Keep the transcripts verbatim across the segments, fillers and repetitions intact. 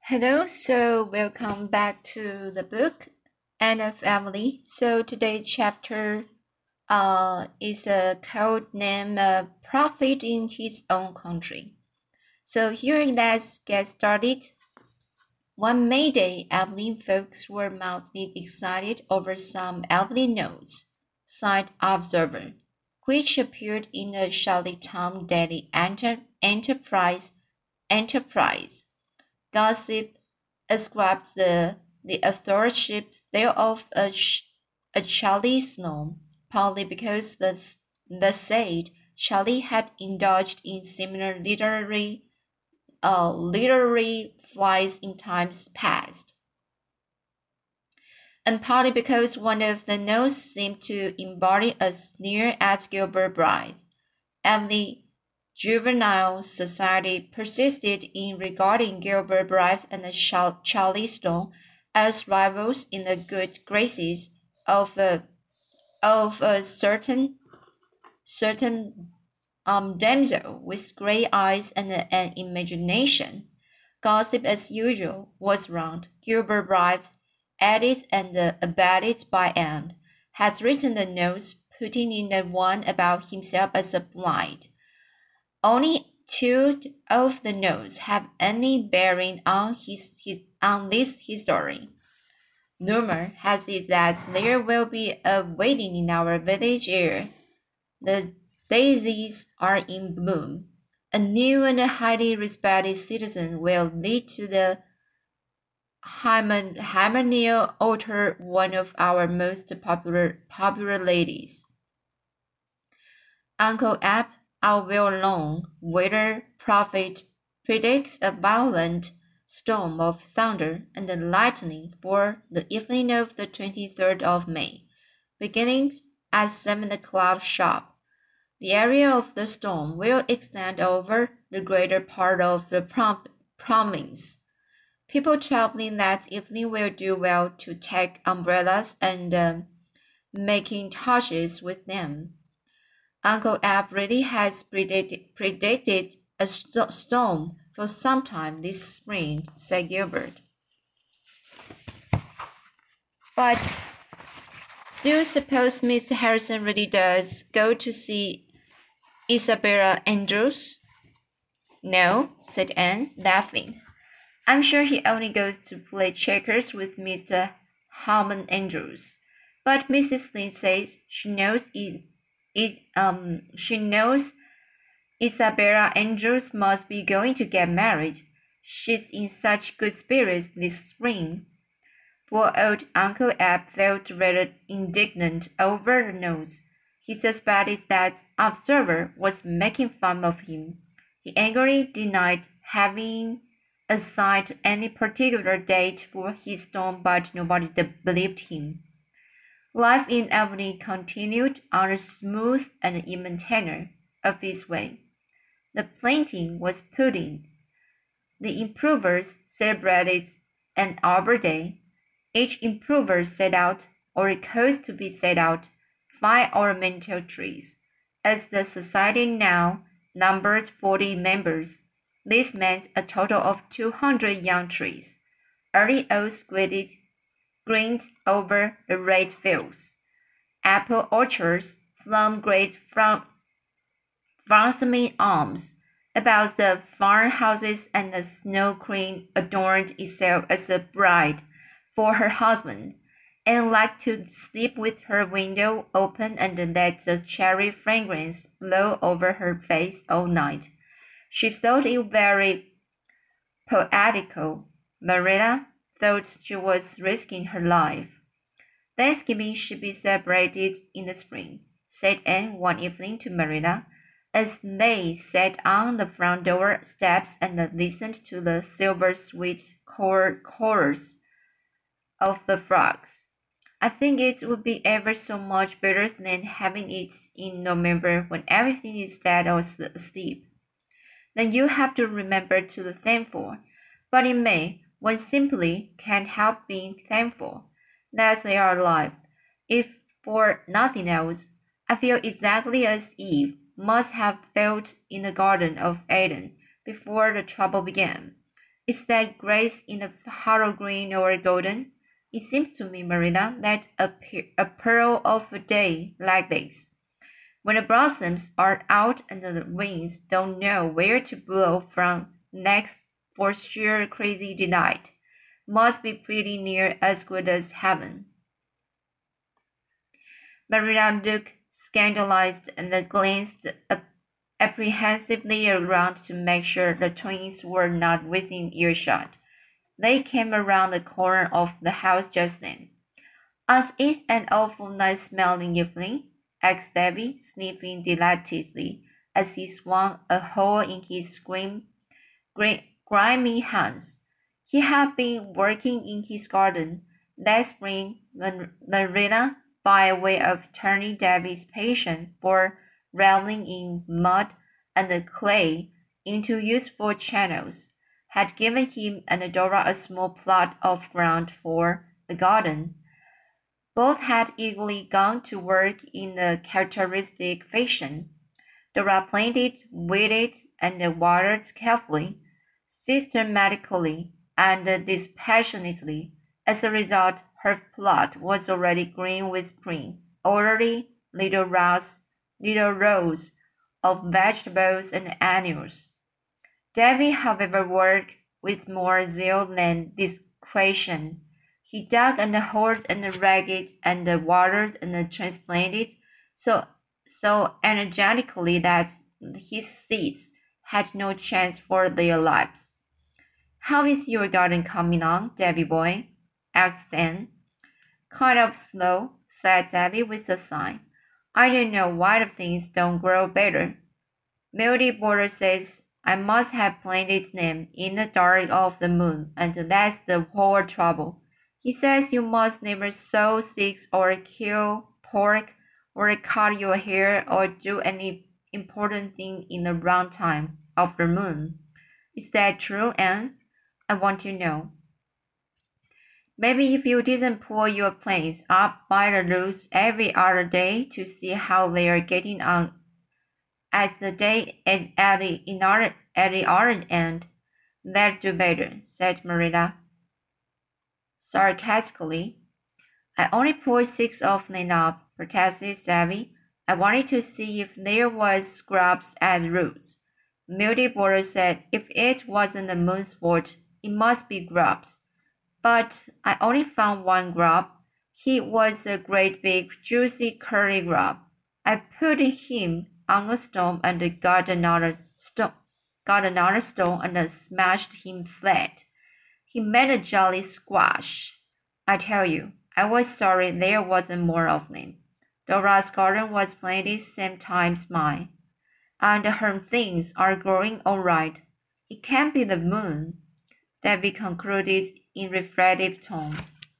Hello, so welcome back to the book Anna Family. So today's chapter uh, is a code named uh, Prophet in His Own Country. So here let's get started. One May Day, Evelyn folks were mildly excited over some Evelyn notes, side observer, which appeared in the Charlottetown Daily Enter- Enterprise. Enterprise. Gossip ascribed the, the authorship thereof a, a Charlie Snow, partly because the, the said Charlie had indulged in similar literary uh, literary flights in times past, and partly because one of the notes seemed to embody a sneer at Gilbert Blythe. Emily Juvenile Society persisted in regarding Gilbert Blythe and Charlie Stone as rivals in the good graces of a, of a certain certain um, damsel with gray eyes and an imagination. Gossip, as usual, was round. Gilbert Blythe, aided and abetted by Anne, has written the notes, putting in the one about himself as a blind. Only two of the notes have any bearing on his, his on this history. Rumor has it that there will be a wedding in our village here. The daisies are in bloom. A new and highly respected citizen will lead to the hymeneal altar one of our most popular popular ladies. Uncle Ab, our well-known weather prophet, predicts a violent storm of thunder and lightning for the evening of the twenty-third of May, beginning at seven o'clock sharp. The area of the storm will extend over the greater part of the prom- province. People traveling that evening will do well to take umbrellas and um, macintoshes with them. Uncle Ab really has predicted, predicted a st- storm for some time this spring, said Gilbert. But do you suppose Mister Harrison really does go to see Isabella Andrews? No, said Anne, laughing. I'm sure he only goes to play checkers with Mister Harmon Andrews. But Missus Lynde says she knows it is um she knows Isabella Andrews must be going to get married. She's in such good spirits this spring. Poor old Uncle Ab felt rather indignant over the notes. He suspected that Observer was making fun of him. He angrily denied having assigned any particular date for his storm, but nobody believed him. Life in Albany continued on a smooth and even tenor of its way. The planting was pudding. The improvers celebrated an Arbor Day. Each improver set out, or caused to be set out, five ornamental trees. As the society now numbered forty members, this meant a total of two hundred young trees. Early oaks graded, greened over the red fields. Apple orchards flung great from blossoming arms about the farmhouses, and the Snow Queen adorned itself as a bride for her husband, and liked to sleep with her window open and let the cherry fragrance blow over her face all night. She thought it very poetical. Marilla thought she was risking her life. Thanksgiving should be celebrated in the spring, said Anne one evening to Marilla, as they sat on the front door steps and listened to the silver sweet chorus of the frogs. I think it would be ever so much better than having it in November when everything is dead or asleep. Then you have to remember to be thankful. But in May, one simply can't help being thankful that they are alive. If for nothing else, I feel exactly as Eve must have felt in the Garden of Eden before the trouble began. Is that grace in the hollow green or golden? It seems to me, Marina, that a, pe- a pearl of a day like this, when the blossoms are out and the winds don't know where to blow from next for sheer crazy delight, must be pretty near as good as heaven. Marina looked scandalized and glanced apprehensively around to make sure the twins were not within earshot. They came around the corner of the house just then. "Aren't it an awful nice smelling evening?" asked Davy, sniffing delightedly as he swung a hoe in his grim, gri- grimy hands. He had been working in his garden that spring when Marina, by way of turning Davy's passion for reveling in mud and clay into useful channels, had given him and Dora a small plot of ground for the garden. Both had eagerly gone to work in the characteristic fashion. Dora planted, weeded, and watered carefully, systematically, and dispassionately. As a result, her plot was already green with spring, orderly little rows, little rows of vegetables and annuals. Davy, however, worked with more zeal than discretion. He dug and hoed and ragged and watered and transplanted so so energetically that his seeds had no chance for their lives. "How is your garden coming on, Davy boy?" asked Anne. "Kind of slow," said Davy with a sigh. "I don't know why the things don't grow better. Moody Border says I must have planted them in the dark of the moon, and that's the whole trouble. He says you must never sow seeds or kill pork or cut your hair or do any important thing in the round time of the moon. Is that true, Anne? I want to know. Maybe if you didn't pull your plants up by the roots every other day to see how they are getting on at the day at, at the in other, at the other end, that'd do better," said Marilla sarcastically. "I only pulled six of them up," protested Davy. "I wanted to see if there was scrubs at the roots." Moody Border said if it wasn't the moon's fault, it must be grubs. But I only found one grub. He was a great big, juicy curly grub. I put him on a stone and got another stone, got another stone and smashed him flat. He made a jolly squash. I tell you, I was sorry there wasn't more of them. Dora's garden was planted same time as mine, and her things are growing all right. It can't be the moon," Davy concluded in reflective tone.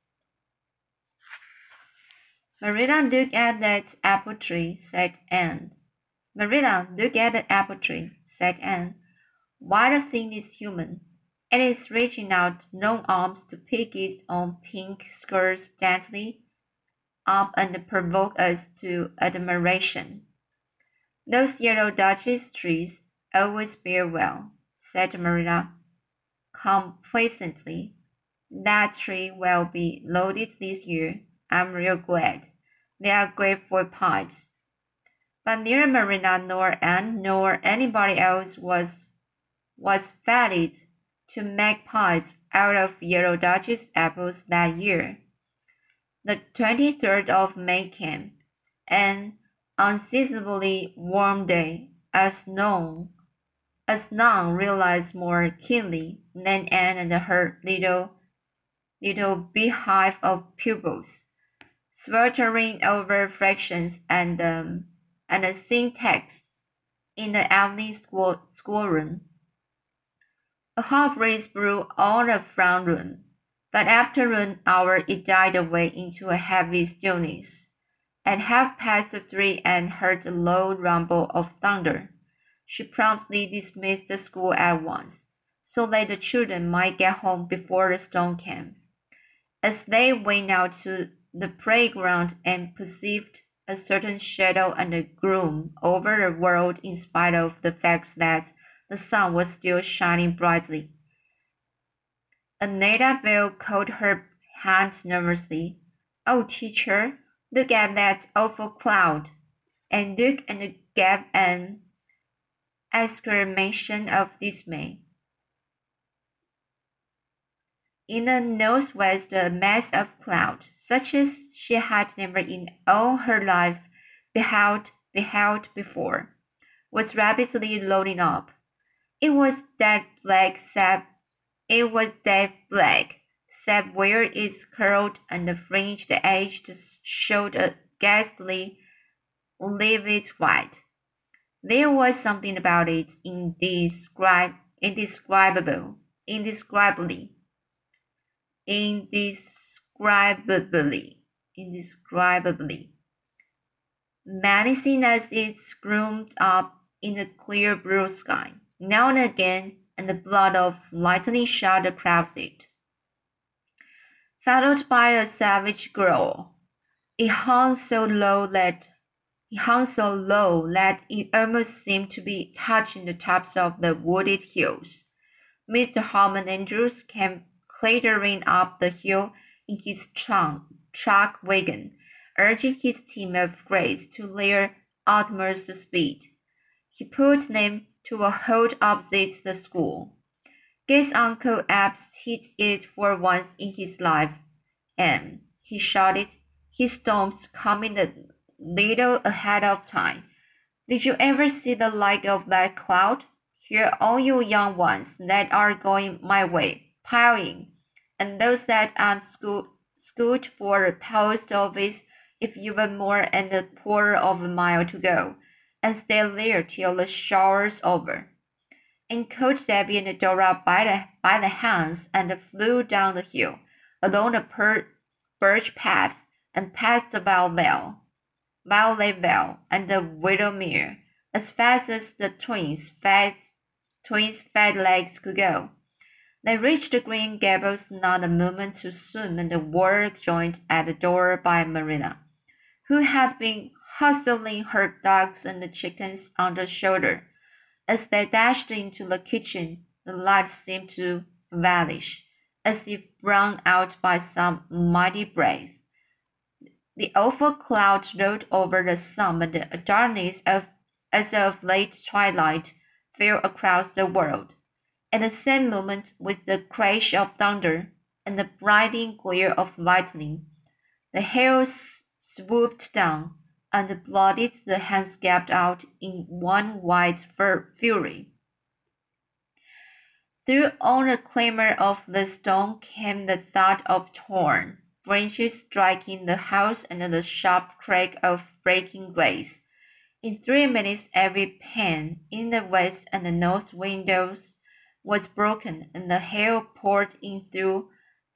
"Marilla, look at that apple tree," said Anne. "Marilla, look at the apple tree," said Anne. "Why, the thing is human. It is reaching out long arms to pick its own pink skirts daintily up and provoke us to admiration." "Those yellow Duchess trees always bear well," said Marilla complacently. "That tree will be loaded this year. I'm real glad. They are great for pipes." But neither Marina nor Anne nor anybody else was was fated to make pies out of yellow Duchess apples that year. The twenty-third of May came, an unseasonably warm day, as none, as none realized more keenly than Anne and her little, little beehive of pupils, sweltering over fractions and um, and syntax in the evening school schoolroom. A hot breeze blew all the front room, but after an hour it died away into a heavy stillness. At half past three Anne heard a low rumble of thunder. She promptly dismissed the school at once, so that the children might get home before the storm came. As they went out to the playground and perceived a certain shadow and a gloom over the world in spite of the fact that the sun was still shining brightly, Annabelle caught her hand nervously. "Oh, teacher, look at that awful cloud!" And look and gave an exclamation of dismay. In the northwest, a mass of cloud, such as she had never in all her life beheld, beheld before, was rapidly loading up. It was that black sap. It was that black sap where its curled and fringed edges showed a ghastly, livid white. There was something about it indescrib- indescribable, indescribably, indescribably, indescribably menacing as it loomed up in the clear blue sky. Now and again, and the blood of lightning shot across it, followed by a savage growl. It hung so low that it hung so low that it almost seemed to be touching the tops of the wooded hills. Mister Harmon Andrews came clattering up the hill in his trunk, truck wagon, urging his team of grays to their utmost speed. He put them to a halt opposite the school. "Guess Uncle Abe's hit it for once in his life, and," he shouted, his storms coming a little ahead of time. "Did you ever see the like of that cloud? Here all you young ones that are going my way, pile in, and those that aren't scoot, scoot for the post office if you've more than a quarter of a mile to go, and stay there till the shower's over." And caught Debbie and Dora by the, by the hands and flew down the hill, along the per, birch path, and past the Valley Valley Vale and the Widowmere, as fast as the twins' fat, twins' fat legs could go. They reached the Green Gables not a moment too soon, and were joined at the door by Marilla, who had been hustling her dogs and the chickens on the shoulder. As they dashed into the kitchen, the light seemed to vanish, as if blown out by some mighty breath. The awful cloud rolled over the sun, and the darkness of, as of late twilight fell across the world. At the same moment, with the crash of thunder and the blinding glare of lightning, the hail swooped down, and blotted the hands gaped out in one wild fury. Through all the clamor of the storm came the thud of torn branches striking the house and the sharp crack of breaking glass. In three minutes every pane in the west and the north windows was broken, and the hail poured in through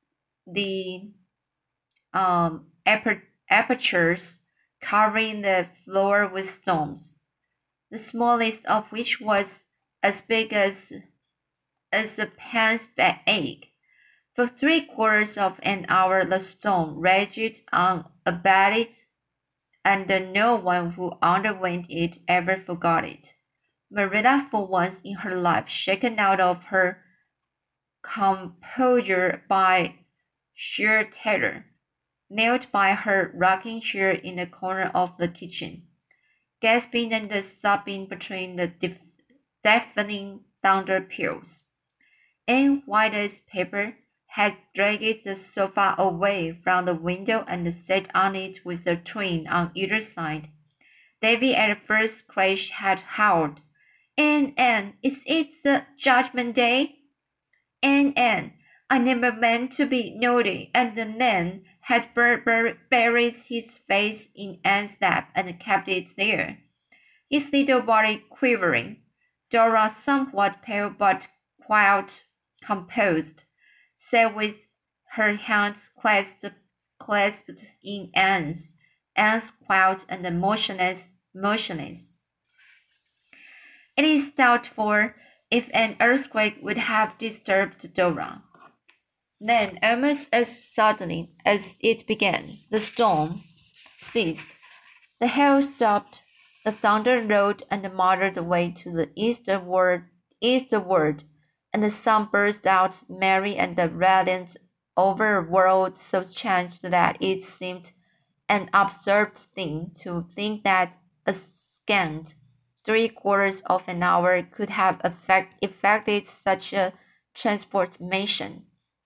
the um, apertures, covering the floor with stones, the smallest of which was as big as, as a pen's egg. For three quarters of an hour the storm raged on unabated, and no one who underwent it ever forgot it. Marilla, for once in her life shaken out of her composure by sheer terror, knelt by her rocking chair in the corner of the kitchen, gasping and sobbing between the deafening thunder peals. Anne, white as paper, had dragged the sofa away from the window and sat on it with a twin on either side. Davy at first crash had howled, "Anne, Anne, is it the Judgment Day? Anne, Anne, I never meant to be naughty," and then had bur bur buried his face in Anne's lap and kept it there, his little body quivering. Dora, somewhat pale but quite composed, sat with her hands clasped, clasped in Anne's, Anne's quiet and motionless, motionless. It is doubtful if an earthquake would have disturbed Dora. Then, almost as suddenly as it began, the storm ceased. The hail stopped, the thunder rolled and muttered away to the eastward, eastward, and the sun burst out merry and radiant over a world so changed that it seemed an absurd thing to think that a scant three quarters of an hour could have effect, effected such a transformation.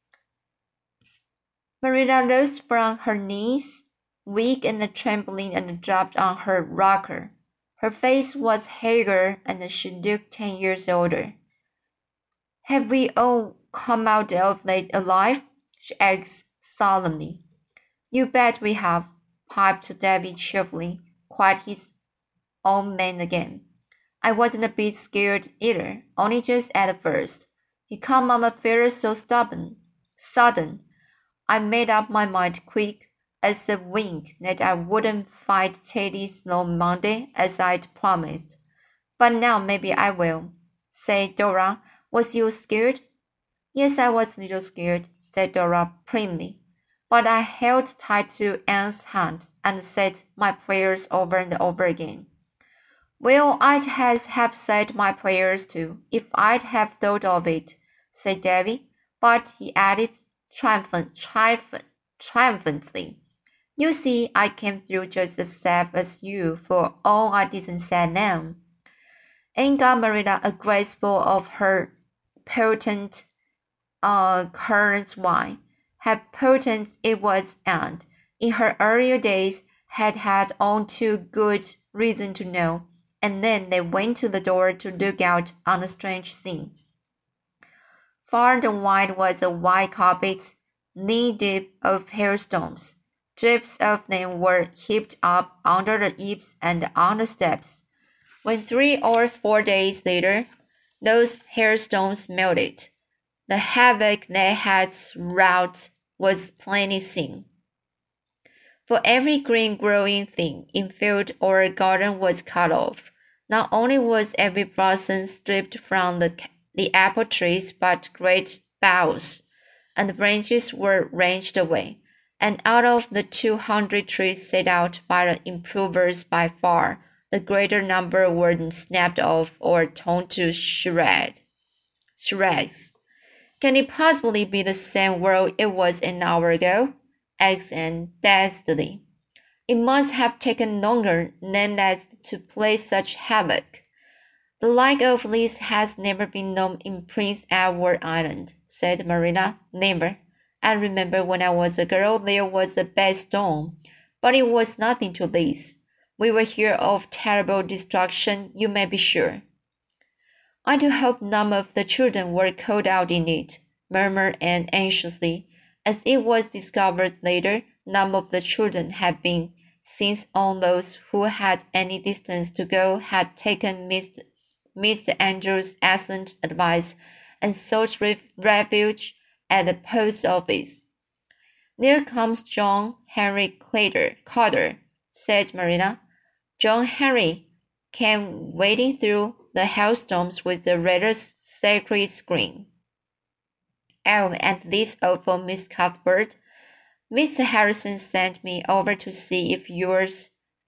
Marilla rose from her knees, weak and trembling, and dropped on her rocker. Her face was haggard, and she looked ten years older. Have we all come out of it alive? She asked solemnly. You bet we have, piped Davy cheerfully, quite his own man again. I wasn't a bit scared either, only just at first. He come on affairs so stubborn, sudden. I made up my mind quick as a wink that I wouldn't fight Teddy Snow Monday as I'd promised. But now maybe I will. Say, Dora, was you scared? Yes, I was a little scared, said Dora primly. But I held tight to Anne's hand and said my prayers over and over again. Well, I'd have, have said my prayers too, if I'd have thought of it, said Davy. But he added triumphant, triumphant, triumphantly, you see, I came through just as safe as you, for all I didn't say now. Anne got Marilla a graceful of her potent uh, currant wine. How potent it was, and in her earlier days had had all too good reason to know. And then they went to the door to look out on the strange scene. Far and wide was a white carpet, knee-deep of hailstones. Drifts of them were heaped up under the eaves and on the steps. When three or four days later those hailstones melted, the havoc they had wrought was plainly seen. For every green growing thing in field or garden was cut off. Not only was every blossom stripped from the, the apple trees, but great boughs and branches were wrenched away, and out of the two hundred trees set out by the improvers by far, the greater number were snapped off or torn to shred, shreds. Can it possibly be the same world it was an hour ago? Asked Anne dazedly. It must have taken longer than that to play such havoc. The like of this has never been known in Prince Edward Island, said Marilla. Never. I remember when I was a girl there was a bad storm, but it was nothing to this. We will hear of terrible destruction, you may be sure. I do hope none of the children were caught out in it, murmured Anne anxiously. As it was discovered later, none of the children had been, since all those who had any distance to go had taken Mister Mister Andrews' excellent advice and sought refuge at the post office. There comes John Henry Carter, Carter, said Marilla. John Henry came wading through the hailstones with a rather sacred grin. Oh, and this awful Miss Cuthbert. Mister Harrison sent me over to see if yours,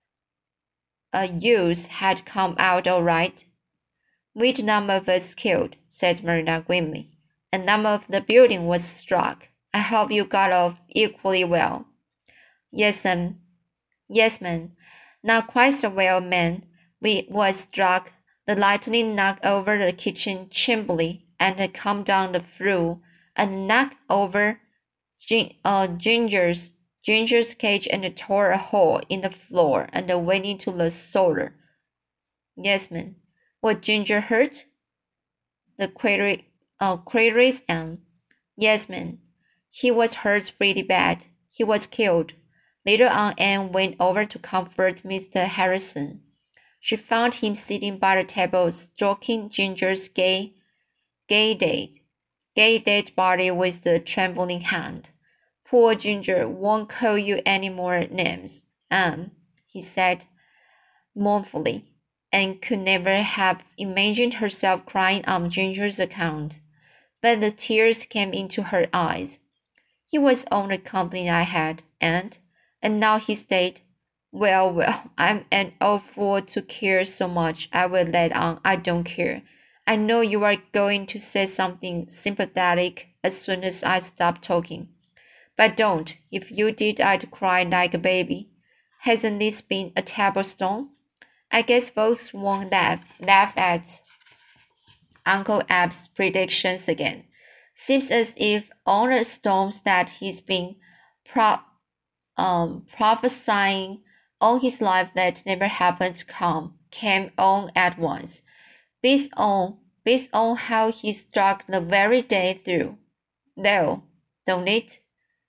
uh, yours had come out all right. We'd none of us killed, said Marilla grimly, and none of the building was struck. I hope you got off equally well. Yes, ma'am. Yes, ma'am. Not quite so well, ma'am. We was struck. The lightning knocked over the kitchen chimney and come down the flue and knocked over Gin, uh, Ginger's Ginger's cage and tore a hole in the floor and went into the cellar. Yes, ma'am. Was Ginger hurt? The query, uh, queries Anne. Yes, ma'am. He was hurt pretty bad. He was killed. Later on, Anne went over to comfort Mister Harrison. She found him sitting by the table, stroking Ginger's gay, gay dead, gay dead body with a trembling hand. Poor Ginger won't call you any more names, Anne, he said mournfully, and could never have imagined herself crying on Ginger's account. But the tears came into her eyes. He was all the company I had, and, and now he stayed. Well, well, I'm an old fool to care so much. I will let on I don't care. I know you are going to say something sympathetic as soon as I stop talking. But don't. If you did, I'd cry like a baby. Hasn't this been a terrible storm? I guess folks won't laugh, laugh at Uncle Ab's predictions again. Seems as if all the storms that he's been pro- um, prophesying all his life that never happened to come came on at once, based on based on how he struck the very day through. Though, don't it?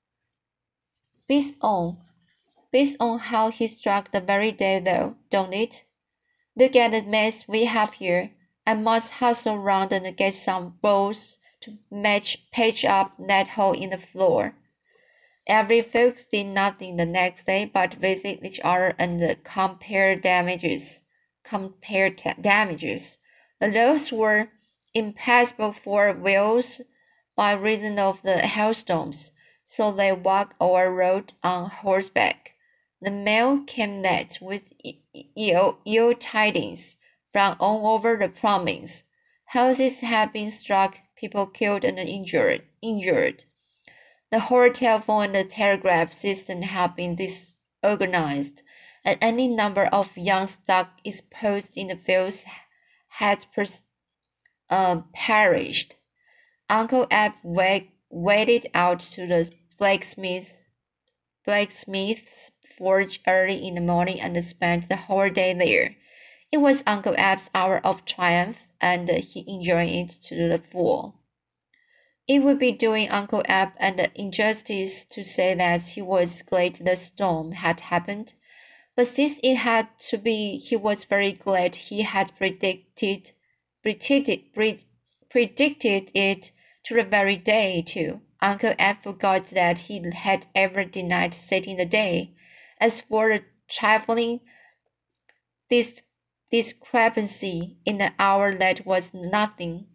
Based on based on how he struck the very day though, don't it? Look at the mess we have here. I must hustle round and get some bolts to match patch up that hole in the floor. Every folks did nothing the next day but visit each other and compare damages. Compare t- damages. The roads were impassable for wheels by reason of the hailstorms, so they walked or rode on horseback. The mail came late with ill, ill tidings from all over the province. Houses had been struck, people killed and injured. injured. The whole telephone and the telegraph system had been disorganized, and any number of young stock exposed in the fields had pers- uh, perished. Uncle Ab wa- waded out to the blacksmith, blacksmith's forge early in the morning and spent the whole day there. It was Uncle Ab's hour of triumph, and he enjoyed it to the full. It would be doing Uncle Ab an injustice to say that he was glad the storm had happened, but since it had to be, he was very glad he had predicted, predicted, pre- predicted it to the very day, too. Uncle Ab forgot that he had ever denied setting the day. As for the trifling dis- discrepancy in the hour, that was nothing.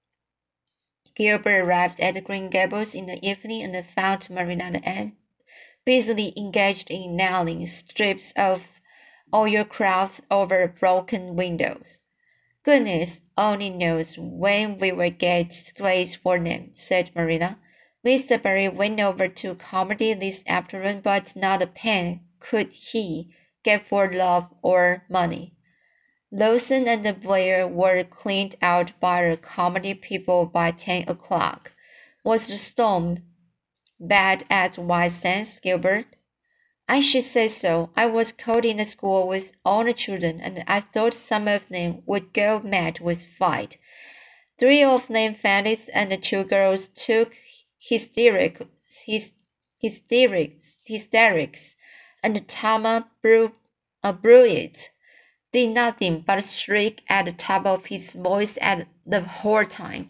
Gilbert arrived at Green Gables in the evening and found Marina and busily engaged in nailing strips of oilcloth over broken windows. Goodness only knows when we will get grace for them, said Marina. Mister Barry went over to Carmody this afternoon, but not a pen could he get for love or money. Lawson and Blair were cleaned out by the Carmody people by ten o'clock. Was the storm bad at White Sands, Gilbert? I should say so. I was caught in the school with all the children, and I thought some of them would go mad with fright. Three of them fainted, and the two girls took hysteric, hys, hysterics, hysterics, and Tama Brew, uh, Brewitt did nothing but shriek at the top of his voice at the whole time.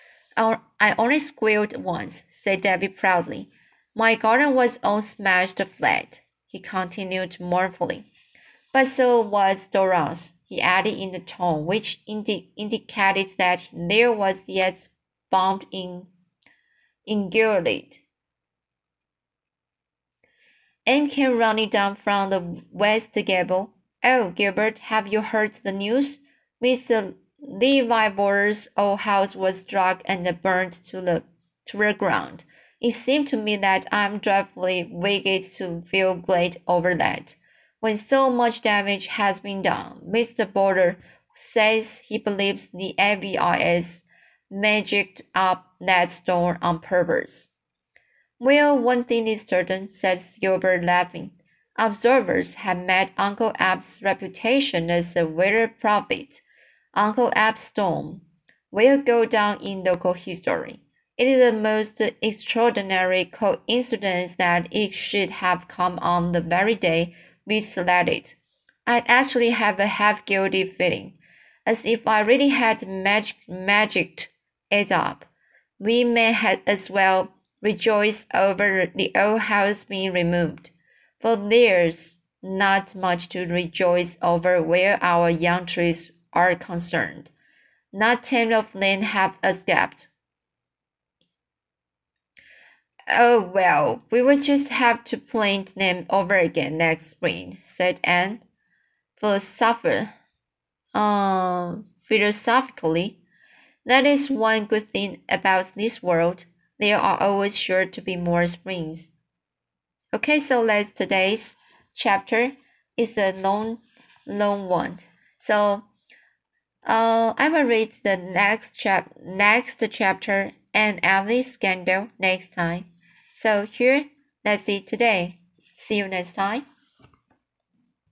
I only squealed once, said Debbie proudly. My garden was all smashed flat, he continued mournfully. But so was Dora's, he added in a tone which indi- indicated that there was yet bound in ingurgit. Anne came running down from the west gable. Oh, Gilbert, have you heard the news? Mister Leavenworth's old house was struck and burned to the to the ground. It seems to me that I'm dreadfully wicked to feel glad over that, when so much damage has been done. Mister Border says he believes the F B I S magicked up that storm on purpose. Well, one thing is certain, said Gilbert, laughing. Observers have made Uncle Ab's reputation as a weather prophet. Uncle Ab's storm will go down in local history. It is the most extraordinary coincidence that it should have come on the very day we selected. I actually have a half guilty feeling, as if I really had magic magicked it up. We may have as well rejoice over the old house being removed, for there's not much to rejoice over where our young trees are concerned. Not ten of them have escaped. Oh, well, we will just have to plant them over again next spring, said Anne, philosopher, uh, philosophically. That is one good thing about this world. There are always sure to be more springs. Okay, so let's today's chapter is a long, long one. So, uh, I will read the next chap next chapter and Emily scandal next time. So here, that's it today. See you next time.